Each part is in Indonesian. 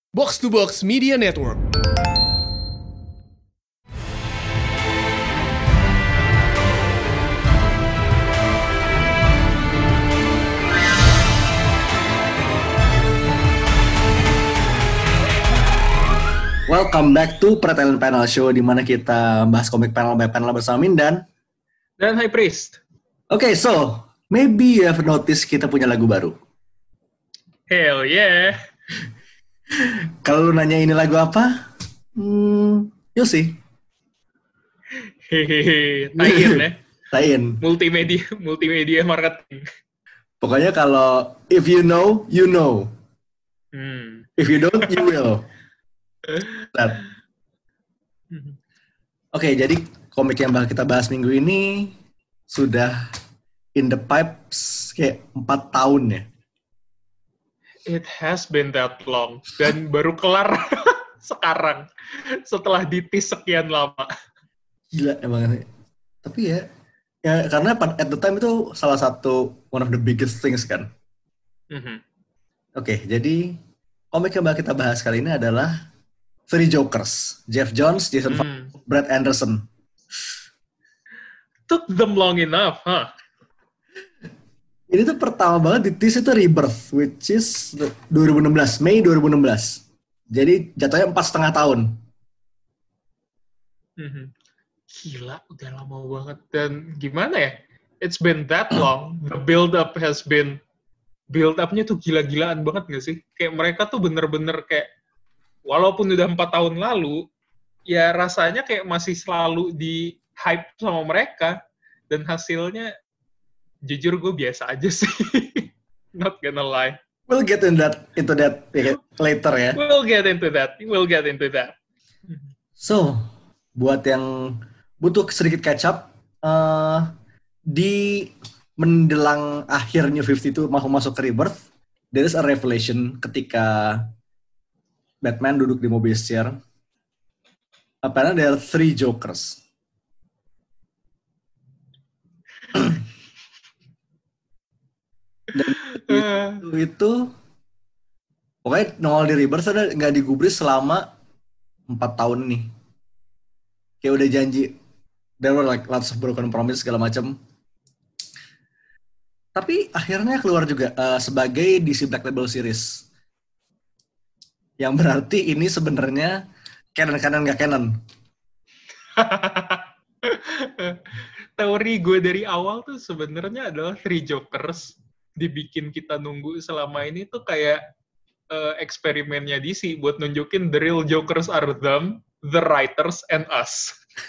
Box to Box Media Network. Welcome back to Pretalent Panel Show, di mana kita bahas komik panel by panel bersama Mindan dan High Priest. Okay, so maybe you have noticed kita punya lagu baru. Hell yeah. Kalau lu nanya ini lagu apa? You'll see. Hehehe, tie-in ya. Tie-in. Multimedia marketing. Pokoknya kalau if you know, you know. If you don't, you will. Oke, jadi komik yang bakal kita bahas minggu ini sudah in the pipes kayak 4 tahun ya. It has been that long. Dan baru kelar sekarang. Setelah ditis sekian lama. Gila emang. Tapi ya karena at the time itu salah satu one of the biggest things kan. Oke, jadi komik yang bakal kita bahas kali ini adalah Three Jokers. Jeff Johns, Jason Fox, Brad Anderson. Took them long enough, huh? Ini tuh pertama banget di tease itu Rebirth, which is 2016, Mei 2016. Jadi jatuhnya 4,5 tahun. Gila, udah lama banget. Dan gimana ya? It's been that long. The build-up has been... Build-up-nya tuh gila-gilaan banget gak sih? Kayak mereka tuh bener-bener kayak... Walaupun udah 4 tahun lalu, ya rasanya kayak masih selalu di-hype sama mereka. Dan hasilnya... Jujur gue biasa aja sih. Not gonna lie. We'll get into that later ya. We'll get into that. So, buat yang butuh sedikit catch up, di menjelang akhir New 52 mau masuk ke Rebirth, there is a revelation ketika Batman duduk di Mobius-Chair. Apparently there are 3 Jokers. Dan itu pokoknya nongol di Rebirth ada nggak digubris selama 4 tahun nih. Kayak udah janji, there were like lots of broken promise segala macam. Tapi akhirnya keluar juga sebagai DC Black Label Series. Yang berarti ini sebenarnya canon nggak canon. Teori gue dari awal tuh sebenarnya adalah Three Jokers dibikin kita nunggu selama ini tuh kayak eksperimennya DC buat nunjukin the real Jokers are them, the writers, and us.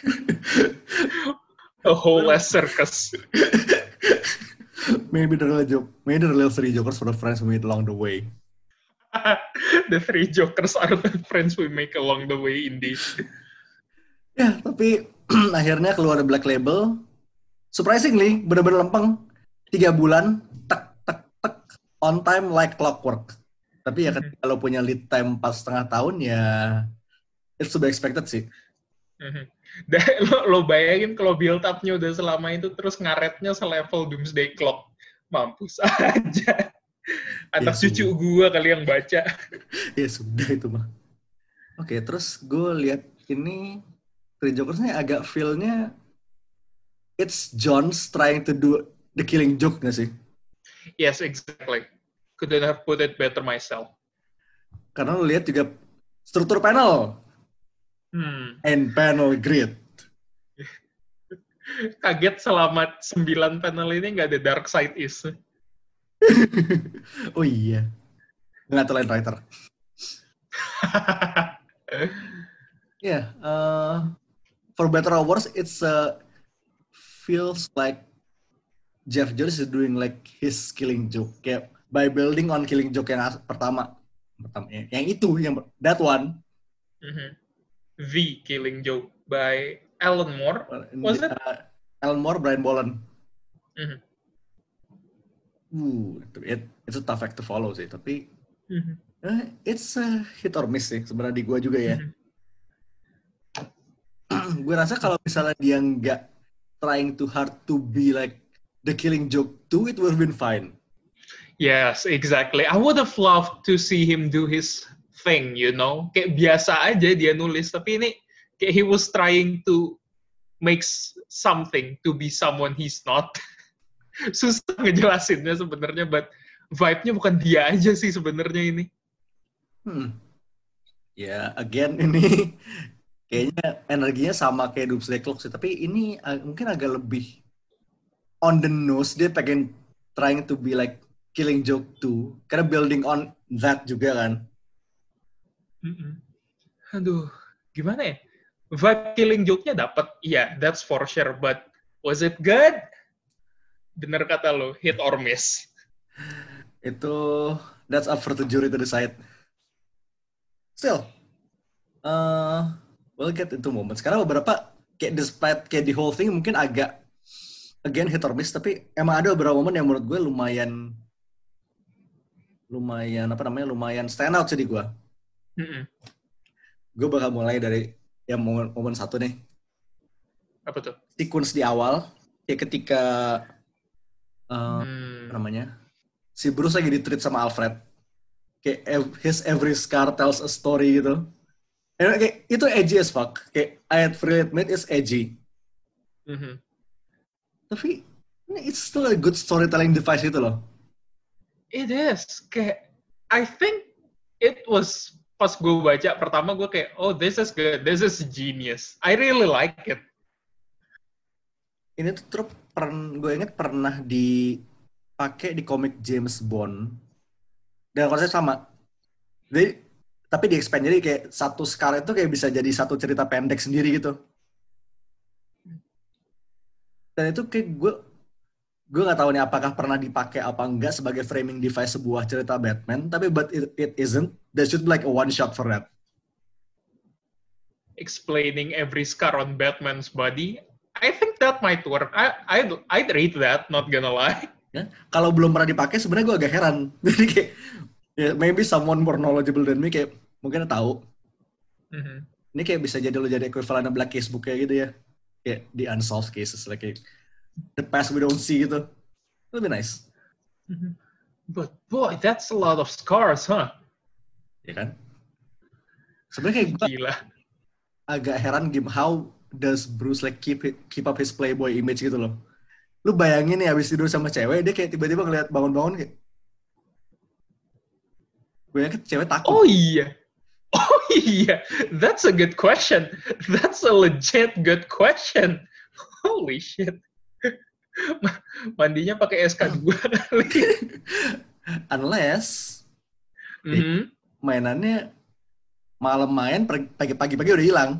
A whole ass circus. Maybe the real 3 Jokers for the friends we made along the way. The 3 Jokers are the friends we make along the way, indeed. Ya, tapi akhirnya keluar Black Label. Surprisingly, benar-benar lempeng. 3 bulan, on time like clockwork. Tapi ya kalau punya lead time 4,5 tahun ya it's to be expected sih. Lo bayangin kalau build up-nya udah selama itu terus ngaretnya selevel Doomsday Clock. Mampus aja. Anak ya, cucu gua kali yang baca. Ya sudah itu mah. Oke, terus gue lihat ini Three Jokers-nya agak feel-nya it's Johns trying to do the killing joke gak sih? Yes, exactly. Couldn't have put it better myself. Karena lo lihat juga struktur panel. And panel grid. Kaget selama 9 panel ini nggak ada Dark Side Is. Oh iya. Nggak terlain writer. Yeah. For better or worse, it's feels like Jeff Johns is doing like his killing joke. Kayak by building on killing joke yang pertama yang itu, yang that one. The Killing Joke by Alan Moore, was it? Alan Moore, Brian Bolland. It's a tough act to follow sih, tapi it's a hit or miss sih sebenarnya di gue juga ya. Gue rasa kalau misalnya dia nggak trying too hard to be like the Killing Joke 2, it would have been fine. Yes, exactly. I would have loved to see him do his thing, you know. Kayak biasa aja dia nulis, tapi ini kayak he was trying to make something to be someone he's not. Susah ngejelasinnya sebenarnya, but vibe-nya bukan dia aja sih sebenarnya ini. Ya, again ini kayaknya energinya sama kayak Doomsday Clock sih, tapi ini mungkin agak lebih on the nose. Dia pengen trying to be like Killing Joke 2, karena building on that juga kan. Aduh, gimana ya? Vibe Killing Joke-nya dapat, yeah, that's for sure, but was it good? Bener kata lo, hit or miss. Itu, that's up for the jury to decide. Still, we'll get into moments. Karena beberapa, kayak despite kayak the whole thing mungkin agak, again hit or miss, tapi emang ada beberapa momen yang menurut gue lumayan stand out sih di gue. Gue bakal mulai dari yang momen satu nih. Apa tuh? Sequence di awal, kayak ketika si Bruce lagi di-treat sama Alfred. Kayak his every scar tells a story gitu. Kayak itu edgy as fuck. Kayak I had freely admit it's edgy. Tapi it's still a good storytelling device gitu loh. It is. Kayak, I think it was, pas gue baca pertama gue kayak, oh this is good, this is genius. I really like it. Ini tuh gue inget pernah dipakai di komik James Bond. Dan konsep sama. Jadi, tapi di expand, jadi kayak satu scar itu kayak bisa jadi satu cerita pendek sendiri gitu. Dan itu kayak gue nggak tahu nih apakah pernah dipakai apa enggak sebagai framing device sebuah cerita Batman, tapi but it isn't. There should be like a one shot for that. Explaining every scar on Batman's body, I think that might work. I'd read that, not gonna lie. Ya, kalau belum pernah dipakai sebenarnya gue agak heran. Jadi kayak maybe someone more knowledgeable than me kayak mungkin tahu. Ini kayak bisa jadi lo jadi equivalent Black Casebook kayak gitu ya. Kayak the unsolved cases like the past we don't see gitu. It'll be nice. But boy, that's a lot of scars, huh? Ya kan? Sebenarnya kayak gue agak heran how does Bruce like keep up his playboy image gitu loh. Lu bayangin nih abis tidur sama cewek, dia kayak tiba-tiba ngeliat bangun-bangun kayak gue yakin cewek takut. Oh iya. That's a good question. That's a legit good question. Holy shit. Mandinya pakai SK2 kali. Unless mainannya malam main, pagi-pagi udah hilang.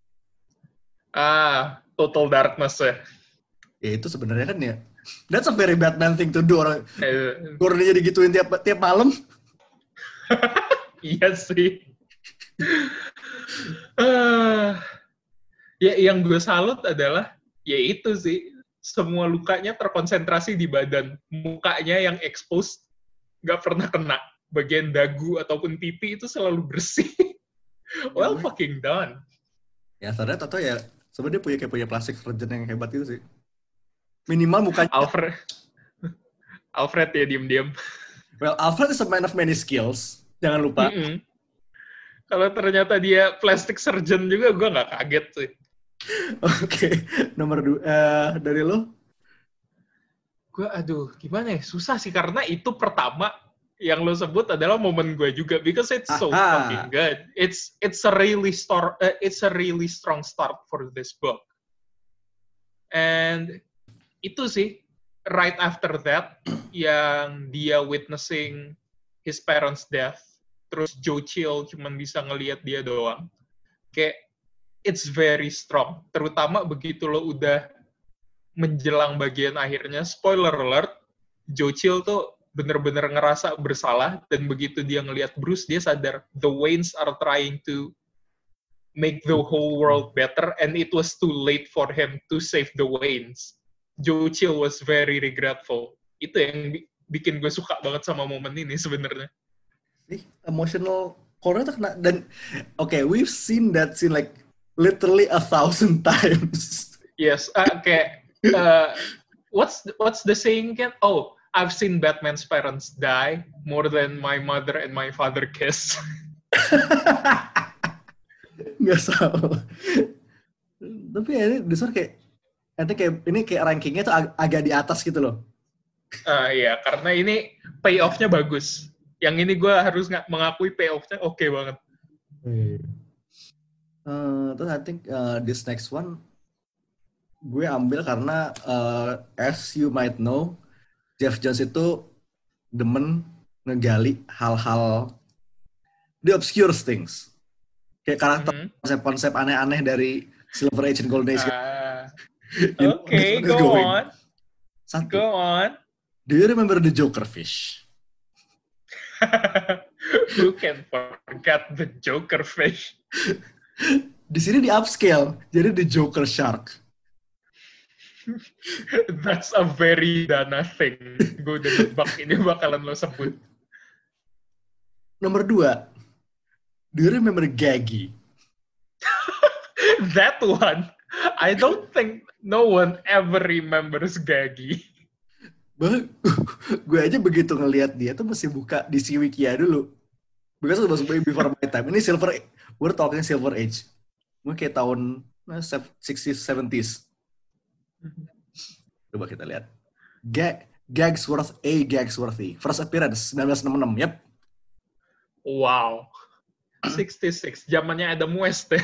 Total darkness ya. Ya itu sebenarnya kan ya. That's a very Batman thing to do. Gordonnya digituin tiap malam. Iya sih. Ya yang gue salut adalah ya itu sih, semua lukanya terkonsentrasi di badan. Mukanya yang exposed nggak pernah kena. Bagian dagu ataupun pipi itu selalu bersih. Well fucking done. Ya ternyata atau ya sebenarnya dia punya plastik surgeon yang hebat itu sih. Minimal mukanya. Alfred ya diem-diem. Well, Alfred is a man of many skills. Jangan lupa. Kalau ternyata dia plastic surgeon juga, gue nggak kaget sih. Oke, nomor 2 dari lo? Gue, gimana ya? Susah sih, karena itu pertama yang lo sebut adalah momen gue juga, because it's so fucking good. It's a really strong start for this book. And itu sih, right after that, yang dia witnessing his parents' death, terus Joe Chill cuman bisa ngelihat dia doang. Kayak, it's very strong. Terutama begitu lo udah menjelang bagian akhirnya, spoiler alert, Joe Chill tuh bener-bener ngerasa bersalah, dan begitu dia ngelihat Bruce, dia sadar, the Waynes are trying to make the whole world better, and it was too late for him to save the Waynes. Joe Chill was very regretful. Itu yang bikin gue suka banget sama momen ini sebenarnya. Emotional core tuh kena, dan we've seen that scene like literally 1,000 times. Yes, kayak what's the saying again? Oh, I've seen Batman's parents die more than my mother and my father kiss. Nggak tahu. Tapi ya ini Desur kayak, nanti kayak ini kayak rankingnya tuh agak di atas gitu loh. Iya, karena ini payoff-nya bagus. Yang ini gue harus mengakui payoff-nya oke banget. Terus I think this next one gue ambil karena as you might know, Jeff Jones itu demen ngegali hal-hal the obscure things. Kayak karakter konsep-konsep aneh-aneh dari Silver Age and Golden Age. Okay, go on. Satu. Go on. Do you remember the Joker fish? Who can forget the Joker fish? Di sini di upscale, jadi the Joker shark. That's a very Dana thing. Gue udah nebak ini bakalan lo sebut. Nomor 2. Do you remember Gaggy? That one, I don't think no one ever remembers Gaggy. Gue aja begitu ngelihat dia tuh mesti buka di si Wikia dulu. Because it was way before my time. Ini Silver Age. We're talking Silver Age. Mungkin kayak tahun 60s, 70s. Coba kita lihat. Gagsworthy. First appearance, 1966. Yep. Wow. 66. Zamannya Adam West ya.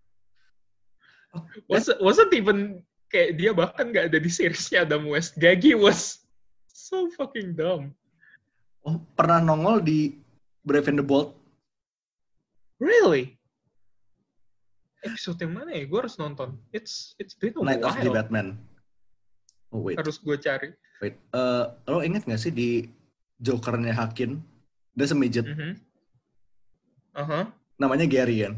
Wasn't even kayak dia bahkan nggak ada di seriesnya Adam West. Gaggy was so fucking dumb. Oh, pernah nongol di Brave and the Bold. Really? Episode yang mana ya? Gue harus nonton. It's been a Night while. of the Batman. Oh wait. Harus gue cari. Wait. Lo inget nggak sih di Jokernya Hakim? Dia semidget. Namanya Gary kan?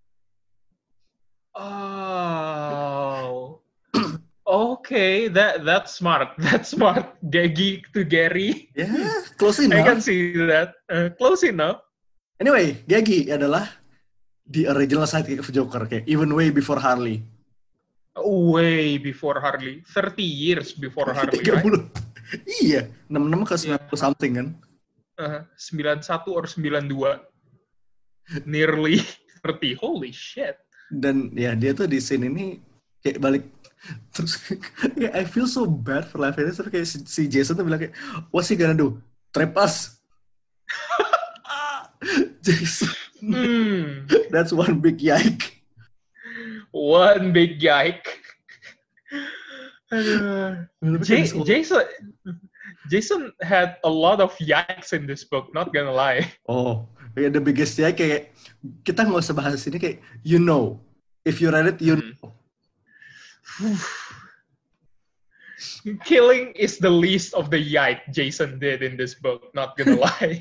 Oh. Okay, that's smart. That's smart. Gaggy to Gary. Yeah, close enough. I can see that. Close enough. Anyway, Gaggy adalah the original sidekick of Joker, kayak even way before Harley. Way before Harley. 30 years before Harley, 30. right? Iya, 66 ke 90 something kan. 91 or 92. Nearly 30. Holy shit. Dan ya dia tuh di scene ini kayak balik terus kayak I feel so bad for life ini, terus kayak si Jason tuh bilang kayak what's he gonna do? Trap us? Jason. That's one big yike. One big yike. Jason had a lot of yikes in this book, not gonna lie. Oh, yeah, the biggest yike kayak kita nggak usah bahas ini kayak you know, if you read it you know. Killing is the least of the yike Jason did in this book, not gonna lie.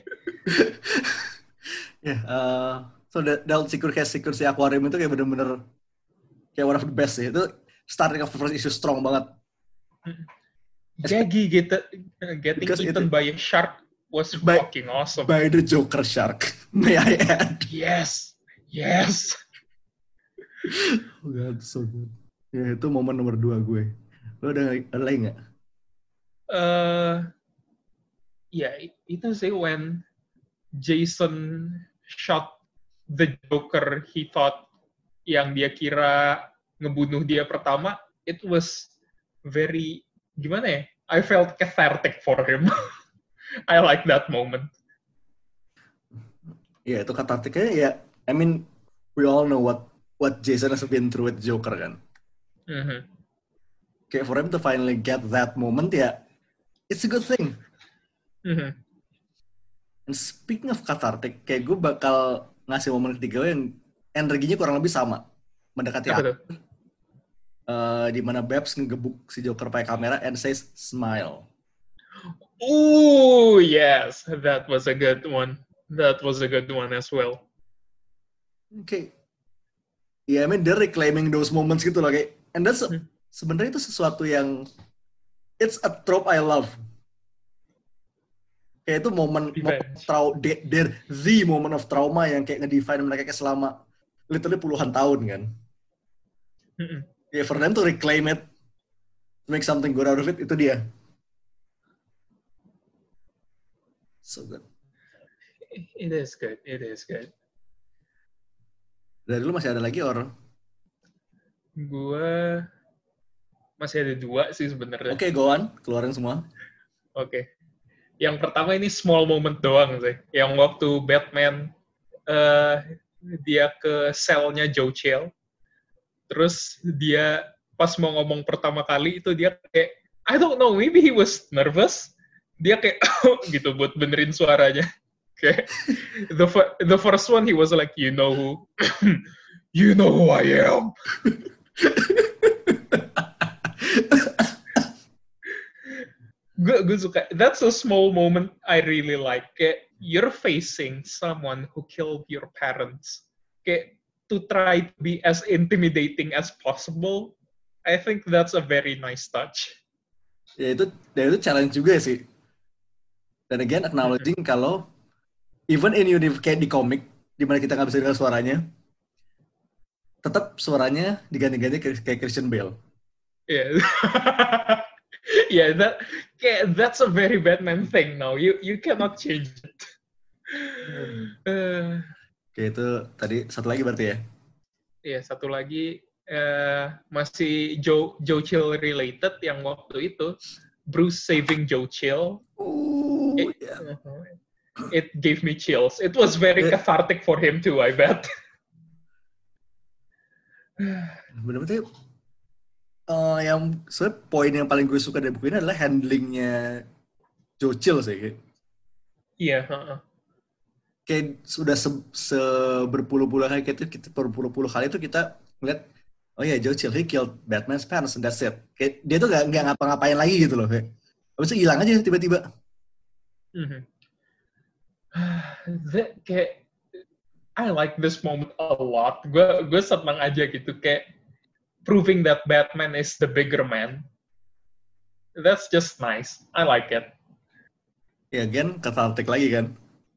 So Delta Secure si Aquarium itu kayak bener-bener kayak one of the best sih. Itu starting of the first issue strong banget. Gaggy getting eaten by a shark was fucking awesome. By the Joker shark, may I add. Yes. Oh God, so good. Ya, itu momen nomor 2 gue. Lo ada lagi nggak? Itu sih when Jason shot the Joker he thought yang dia kira ngebunuh dia pertama, it was very, gimana ya? I felt cathartic for him. I like that moment. Ya, itu catharticnya ya, I mean, we all know what Jason has been through with Joker kan. Kayak for him to finally get that moment ya, it's a good thing. And speaking of cathartic, kayak gue bakal ngasih momen ketiga yang energinya kurang lebih sama, mendekati akhir. Di mana Babs ngegebuk si Joker pakai kamera and says smile. Oh yes, that was a good one. That was a good one as well. Okay. Yeah, I mean they're reclaiming those moments gitu loh kayak, and that's sebenarnya itu sesuatu yang it's a trope I love. Kayak itu momen the moment of trauma yang kayak ngedefine mereka kayak selama literally puluhan tahun kan. Yeah, for them to reclaim it, to make something good out of it, itu dia. So good. It is good. Dari lu masih ada lagi Gue masih ada 2 sih sebenarnya. Oke, go on, keluarin semua. Oke. Yang pertama ini small moment doang sih. Yang waktu Batman dia ke selnya Joe Chill. Terus dia pas mau ngomong pertama kali itu dia kayak I don't know, maybe he was nervous. Dia kayak gitu buat benerin suaranya. Kayak the first one he was like, you know who you know who I am. Gue suka. That's a small moment I really like. Kayak you're facing someone who killed your parents. Kayak to try to be as intimidating as possible. I think that's a very nice touch. Ya itu challenge juga sih. Dan again acknowledging kalau even in kayak di komik di mana kita nggak bisa dengar suaranya, tetap suaranya diganti-ganti kayak Christian Bale. Yeah. Yeah, that's a very Batman thing now. You cannot change it. Oke, itu tadi satu lagi berarti ya? Iya, satu lagi masih Joe Chill related yang waktu itu Bruce saving Joe Chill. It gave me chills. It was very cathartic for him too, I bet. Benar-benar yang sebenarnya poin yang paling gue suka dari buku ini adalah handlingnya Joe Chill sih. Iya. Kayak sudah berpuluh-puluh kali itu kita ngeliat, oh ya Joe Chill, he killed Batman's parents and that's it. Kayak dia tuh nggak ngapa-ngapain lagi gitu loh. Habis itu hilang aja tiba-tiba. Kayak I like this moment a lot. Gue senang aja gitu kayak proving that Batman is the bigger man. That's just nice. I like it. Ya, again, cathartic lagi kan.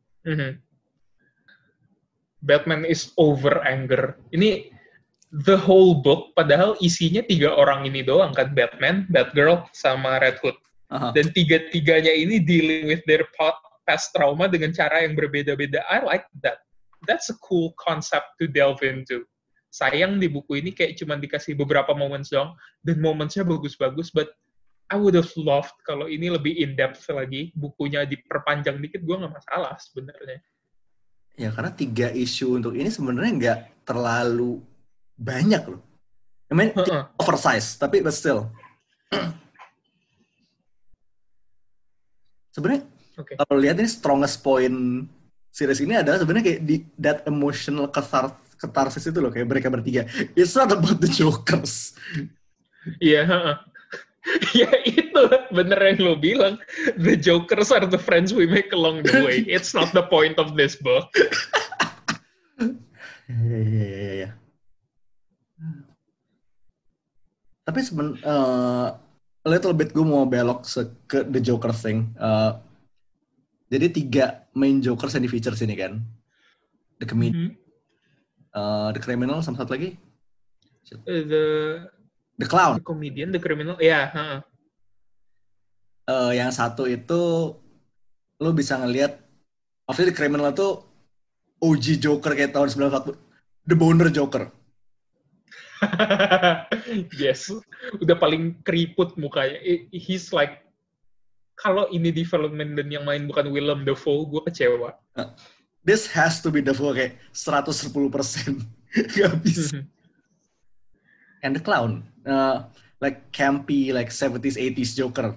Batman is over anger. Ini the whole book, padahal isinya 3 orang ini doang kan, Batman, Batgirl, sama Red Hood. Dan 3-tiganya ini dealing with their past trauma dengan cara yang berbeda-beda. I like that. That's a cool concept to delve into. Sayang di buku ini kayak cuma dikasih beberapa moments doang, dan momentsnya bagus-bagus, but I would have loved kalau ini lebih in-depth lagi, bukunya diperpanjang dikit, gue nggak masalah sebenarnya. Ya, karena 3 isu untuk ini sebenarnya nggak terlalu banyak loh. I mean, oversize, tapi but still. Sebenarnya, kalau lihat ini strongest point series ini adalah sebenarnya kayak di that emotional catharsis itu loh, kayak mereka bertiga. It's not about the Jokers. Iya, ya itu bener yang lo bilang. The Jokers are the friends we make along the way. It's not the point of this book. Iya. Tapi a little bit gue mau belok ke the Joker thing. Jadi 3 main Jokers yang di feature sini kan. The Comedian, The Criminal, sama satu lagi. The Clown. The Comedian, The Criminal, ya. Yang satu itu lo bisa ngelihat, obviously The Criminal itu OG Joker kayak tahun 1940, The Boner Joker. Yes, udah paling keriput mukanya. He's like, kalau ini development dan yang main bukan Willem Dafoe, gue kecewa. This has to be Dafoe kayak 110%. Gak bisa. And The Clown, like campy, like 70s, 80s Joker.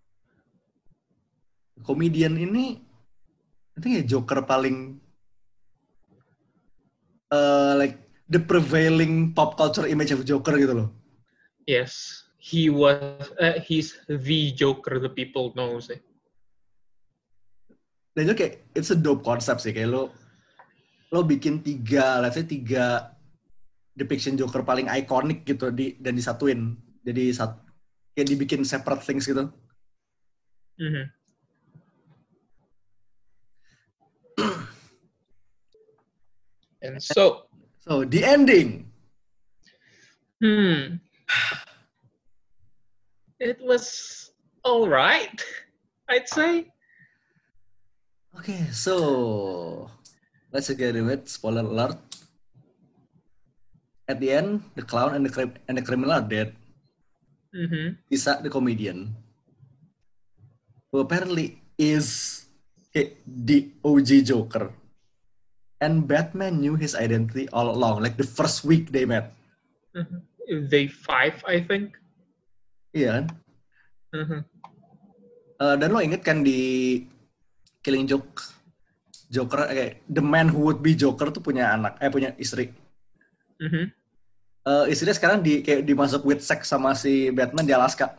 Comedian ini, I think ya Joker paling, like the prevailing pop culture image of Joker gitu loh. Yes, he's the Joker the people know sih. Dan itu kayak, it's a dope concept sih, kayak lo bikin 3 depiction Joker paling iconic gitu dan disatuin, jadi kayak dibikin separate things gitu. And so the ending. It was all right, I'd say. Okay, so let's get into it. Spoiler alert. At the end, the clown and the criminal are dead. Isa, the comedian, who apparently is the OG Joker. And Batman knew his identity all along, like the first week they met. Day 5, I think. Iya kan? Dan lo inget kan di Killing Joke, Joker, the man who would be Joker tuh punya istri. Istrinya sekarang kayak dimasuk with sex sama si Batman di Alaska.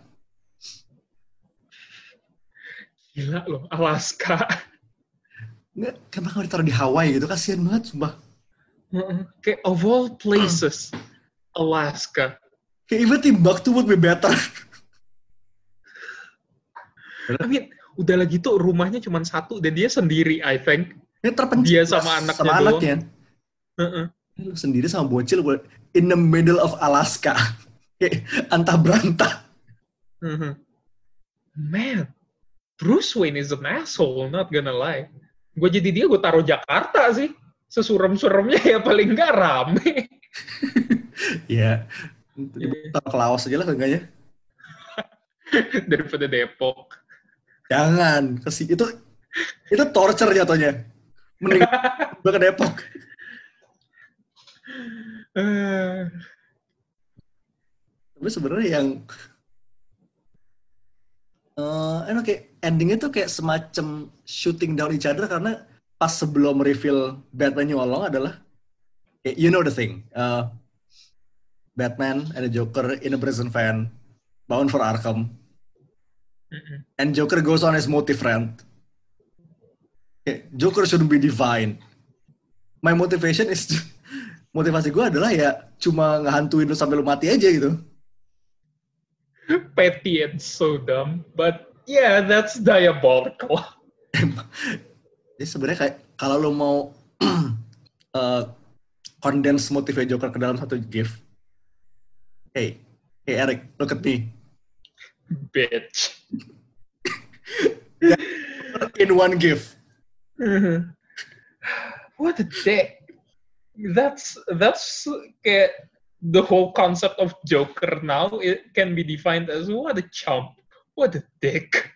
Gila loh, Alaska. Nggak, kenapa nggak ditaruh di Hawaii gitu? Kasian banget, sumpah. Kayak of all places, Alaska. Kayak even Timbuktu would be better. I mean, udah lagi tuh rumahnya cuma satu dan dia sendiri, I think. Dia sama anaknya. Lu sendiri sama bocil in the middle of Alaska. Kayak antah berantah. Man, Bruce Wayne is an asshole, not gonna lie. Gue jadi dia, gue taruh Jakarta sih. Sesurem-suremnya ya paling nggak rame. Iya. Taruh ke Laos aja lah enggaknya. Daripada Depok. Jangan. Itu torture jatuhnya. Mending gue ke Depok. Tapi sebenarnya yang kayak endingnya tuh kayak semacam shooting down each other karena pas sebelum reveal Batman nyolong adalah kayak, you know the thing, Batman and the Joker in a prison van bound for Arkham, and Joker goes on his motive rant. Joker shouldn't be divine. My motivation is motivasi gue adalah ya cuma ngehantuin lu sampai lu mati aja gitu. Petty and so dumb, but yeah, that's diabolical. Jadi sebenarnya kayak kalau lu mau condense motifnya Joker ke dalam satu GIF. Hey Eric, look at me. Bitch. In one GIF. What a dick. That's kayak the whole concept of Joker now, it can be defined as what a chump, what a dick.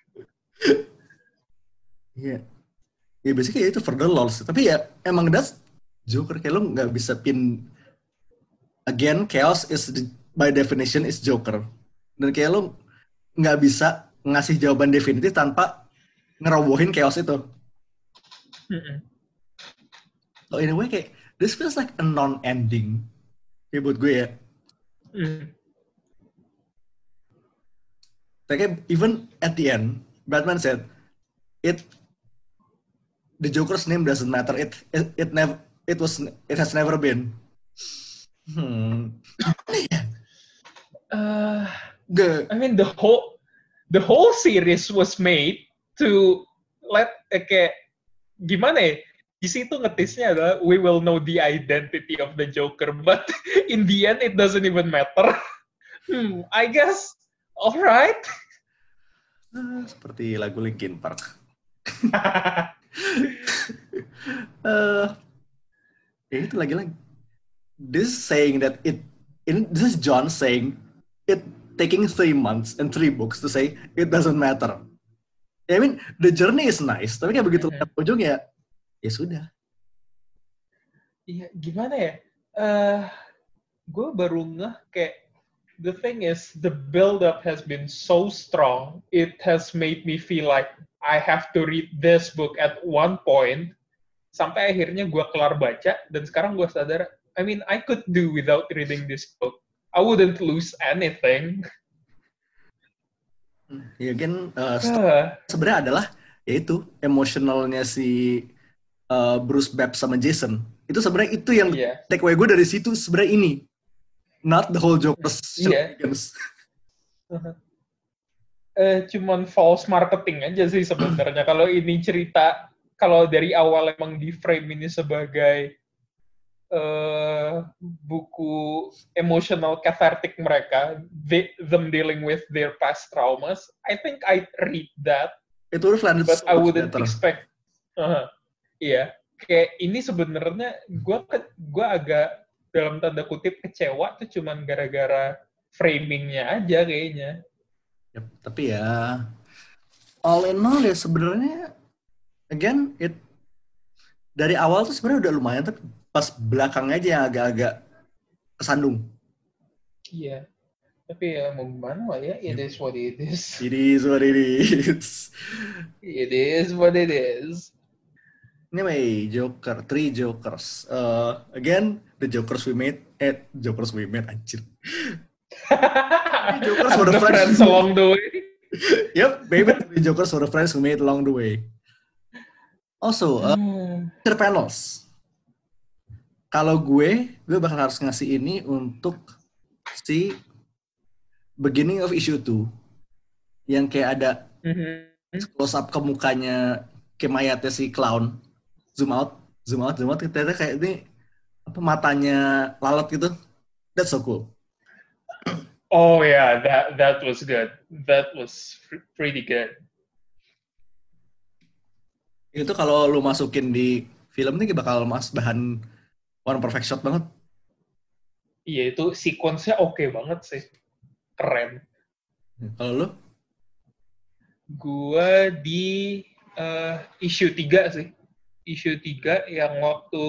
Iya. Ya basically itu for the lols. Tapi ya emang that's Joker, kayak lo nggak bisa pin. Again, chaos is by definition is Joker. Dan kayak lo nggak bisa ngasih jawaban definitif tanpa ngerobohin chaos itu. So in a way kayak this feels like a non-ending. Kayak buat gue ya. Kayak even at the end, Batman said, the Joker's name doesn't matter. It has never been. I mean the whole series was made to let kayak gimana ya? Di situ ngetisnya adalah we will know the identity of the Joker, but in the end it doesn't even matter. I guess alright. Seperti lagu Linkin Park. Itu lagi-lagi. This saying that this is John saying it taking 3 months and 3 books to say it doesn't matter. I mean the journey is nice, tapi kayak begitu ujungnya ya sudah. Iya, gimana ya? Gue baru ngeh kayak the thing is the build up has been so strong. It has made me feel like I have to read this book at one point sampai akhirnya gue kelar baca dan sekarang gue sadar, I mean I could do without reading this book. I wouldn't lose anything. Ya kan sebenarnya adalah yaitu emosionalnya si Bruce Babs sama Jason. Itu sebenarnya itu yang takeaway gue dari situ sebenarnya ini. Not the whole Joker's shenanigans. Cuman false marketing aja sih sebenarnya. Kalau ini cerita, kalau dari awal emang di frame ini sebagai buku emotional cathartic mereka, them dealing with their past traumas, I think I'd read that. It would have landed but so I wouldn't better. expect. Iya, kayak ini sebenarnya gue agak dalam tanda kutip kecewa tuh cuman gara-gara framingnya aja kayaknya. Yep, tapi ya all in all ya sebenarnya again dari awal tuh sebenarnya udah lumayan, tapi pas belakangnya aja yang agak-agak kesandung. Iya. Tapi ya mau gimana lah ya, it is what it is. It is what it is. It is what it is. Anyway, Joker, 3 Jokers. Again, the Jokers we made, anjir. Jokers And for the the friends along the way. Yep, baby, the Jokers for the friends who made along the way. Also, feature panels. Kalau gue bakal harus ngasih ini untuk si beginning of issue 2. Yang kayak ada close up ke mukanya kayak mayatnya si clown. Zoom out, ternyata kayak ini apa matanya lalat gitu. That's so cool. Oh yeah, that was good. That was pretty good. Itu kalau lu masukin di film ini bakal bahan one perfect shot banget. Iya, itu sequence-nya oke banget sih. Keren. Kalau lu? Gua di issue 3 sih. Issue 3 yang waktu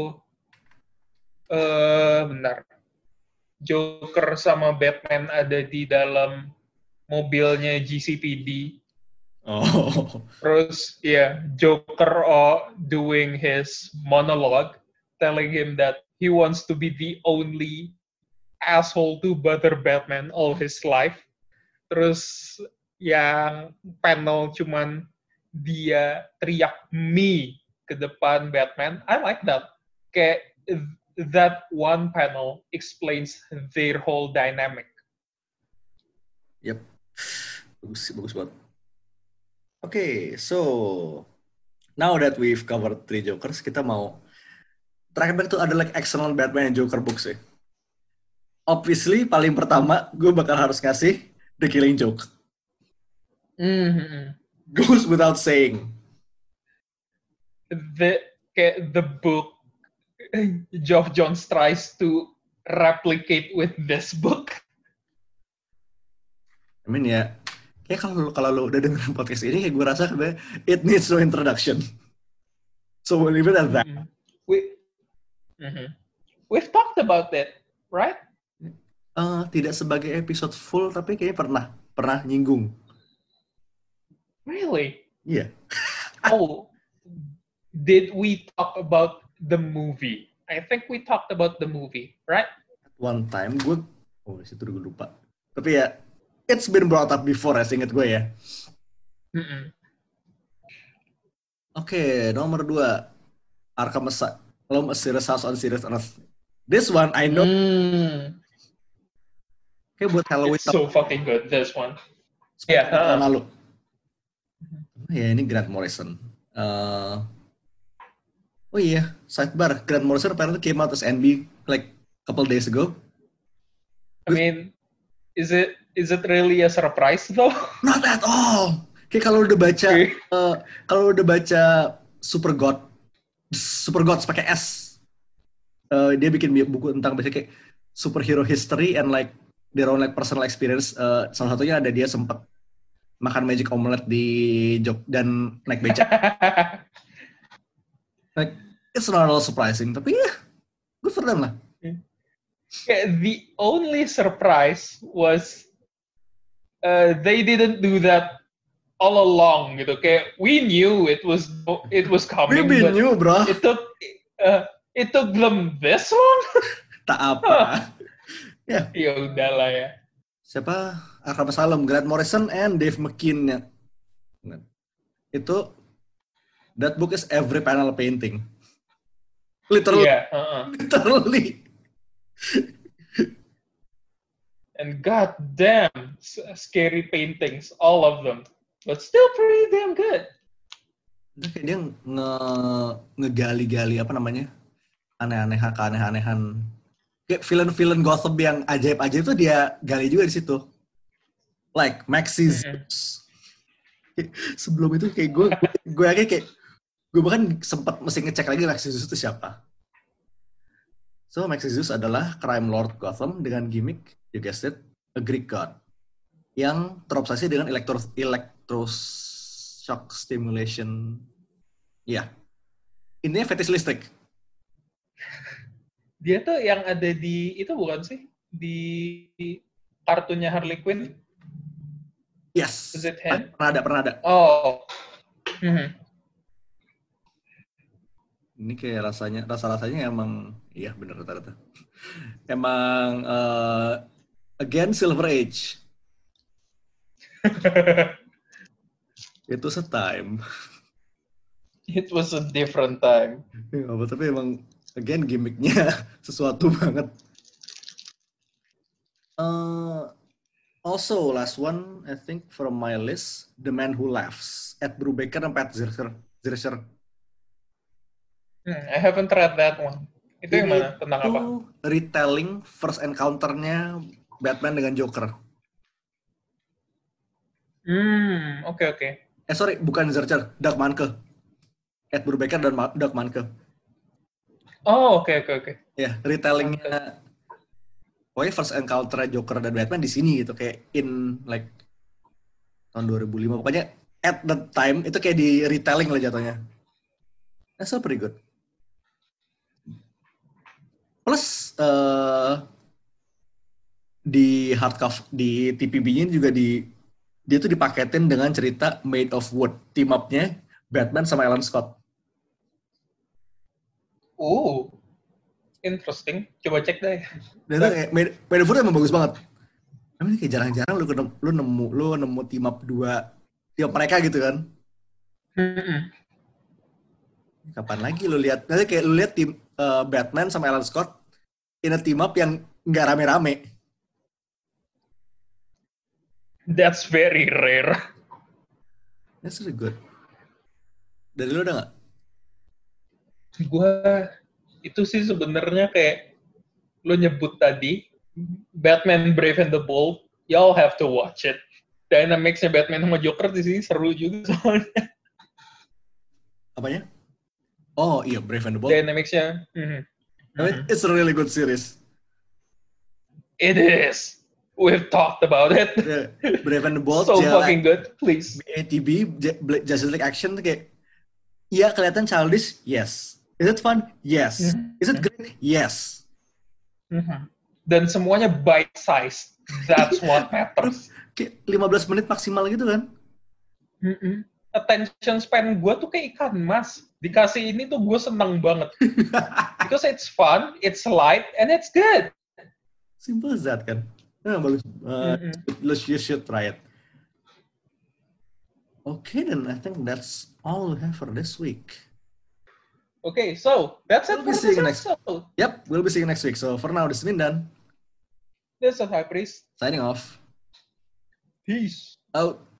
bentar. Joker sama Batman ada di dalam mobilnya GCPD. Oh. Terus ya Joker doing his monologue, telling him that he wants to be the only asshole to bother Batman all his life. Terus yang panel cuman dia teriak me ke depan Batman. I like that. Kayak that one panel explains their whole dynamic. Yep. Bagus banget. Okay, so now that we've covered 3 Jokers, kita mau terakhir tuh ada like excellent Batman and Joker books ya. Obviously, paling pertama gue bakal harus ngasih The Killing Joke. Goes without saying. The book Geoff Johns tries to replicate with this book. I mean ya, kayak kalau lo udah dengerin podcast ini, kayak gue rasa it needs no introduction. So we'll leave it at that. We've talked about it, right? Tidak sebagai episode full, tapi kayaknya pernah nyinggung. Really? Iya. Yeah. Oh, did we talk about the movie? I think we talked about the movie, right? One time situ gue lupa. Tapi ya, it's been brought up before, seinget gue ya. Oke, nomor 2. Arkham Asylum, A Serious House on Serious Earth. This one, I know. Kayak buat Halloween. It's so fucking good, this one. Yeah. Lalu. Ya, ini Grant Morrison. Oh iya, sidebar. Grant Morrison apparently came out as NB like couple days ago. I mean, is it really a surprise though? Not at all. Kayak kalau udah baca Super Gods pakai S. Dia bikin buku tentang basically kayak superhero history and like their own like personal experience. Salah satunya ada dia sempat makan magic omelet di Jog dan naik becak. Like, it's not at all surprising, tapi ya, good for them lah. The only surprise was they didn't do that all along gitu. Kayak we knew it was coming. We knew, bro. It took them this long. Tak apa. Ya udahlah ya. Siapa? Arkham Asylum, Grant Morrison and Dave McKean ya. Itu that book is every panel painting. Literally. Yeah, Literally. And god damn scary paintings, all of them. But still pretty damn good. Kayak dia ngegali-gali apa namanya? Aneh-anehan. Kayak villain-villain Gotham yang ajaib-ajaib tuh dia gali juga di situ. Like Maxi Zeus. Sebelum itu kayak gue bahkan sempat mesti ngecek lagi Maxi Zeus itu siapa. So Maxi Zeus adalah crime lord Gotham dengan gimmick, you guessed it, a Greek god yang terobsesi dengan electroshock stimulation. Ya, intinya fetish listrik. Dia tuh yang ada di itu bukan sih? Di kartunnya Harley Quinn? Yes. Is it him? Pernah ada. Oh. Mhm. Ini kayak rasa-rasanya emang, iya bener rata-rata. Emang again Silver Age. It was a time. It was a different time. Ya, tapi emang again gimmicknya sesuatu banget. Also last one I think from my list, The Man Who Laughs, Ed Brubaker dan Pat Zircher. I haven't read that one. Itu yang mana? Tentang apa? Itu retelling first encounter-nya Batman dengan Joker. Oke. Sorry, bukan Zircher, Doug Manke. Ed Brubaker dan Doug Manke. Oh, oke. Ya, retellingnya pokoknya first encounter Joker dan Batman di sini gitu, kayak in like tahun 2005. Pokoknya at the time itu kayak di retelling lah jatuhnya. That's so pretty good. Plus di hardcover di TPB-nya juga dia tuh dipaketin dengan cerita Made of Wood, team up-nya Batman sama Alan Scott. Oh, interesting. Coba cek deh. Dan itu kayak Made of Wood emang bagus banget. Tapi kayak jarang-jarang lu nemu team up team up mereka gitu kan. Kapan lagi lu lihat? Nanti kayak lu lihat tim Batman sama Alan Scott in a team up yang nggak rame-rame. That's very rare. That's really good. Dari lu udah nggak? Gue itu sih sebenarnya kayak lo nyebut tadi Batman Brave and the Bold, y'all have to watch it. Dynamics-nya Batman sama Joker di sini seru juga soalnya. Apanya? Oh iya, Brave and the Bold. Dynamics-nya. I mean, it's a really good series. It is. We've talked about it. Yeah, Brave and the Bold. So fucking good, please. ATB, Justice League Action kayak, iya kelihatan childish, yes. Is it fun? Yes. Is it great? Yes. Dan semuanya bite-sized. That's what matters. Kayak 15 menit maksimal gitu kan? Attention span gue tuh kayak ikan mas. Dikasih ini tuh gue seneng banget. Because it's fun, it's light, and it's good. Simple as that kan? Bagus. You should try it. Okay, then I think that's all we have for this week. Okay, so that's it for this episode. Yep, we'll be seeing you next week. So for now, this is Mindan. This is High Priest. Signing off. Peace. Out.